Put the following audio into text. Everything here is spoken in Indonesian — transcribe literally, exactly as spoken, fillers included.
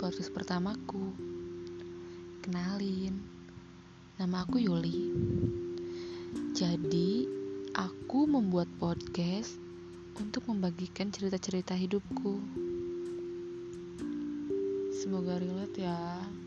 podcast pertamaku. Kenalin, nama aku Yuli. Jadi, aku membuat podcast untuk membagikan cerita-cerita hidupku. Semoga relate ya.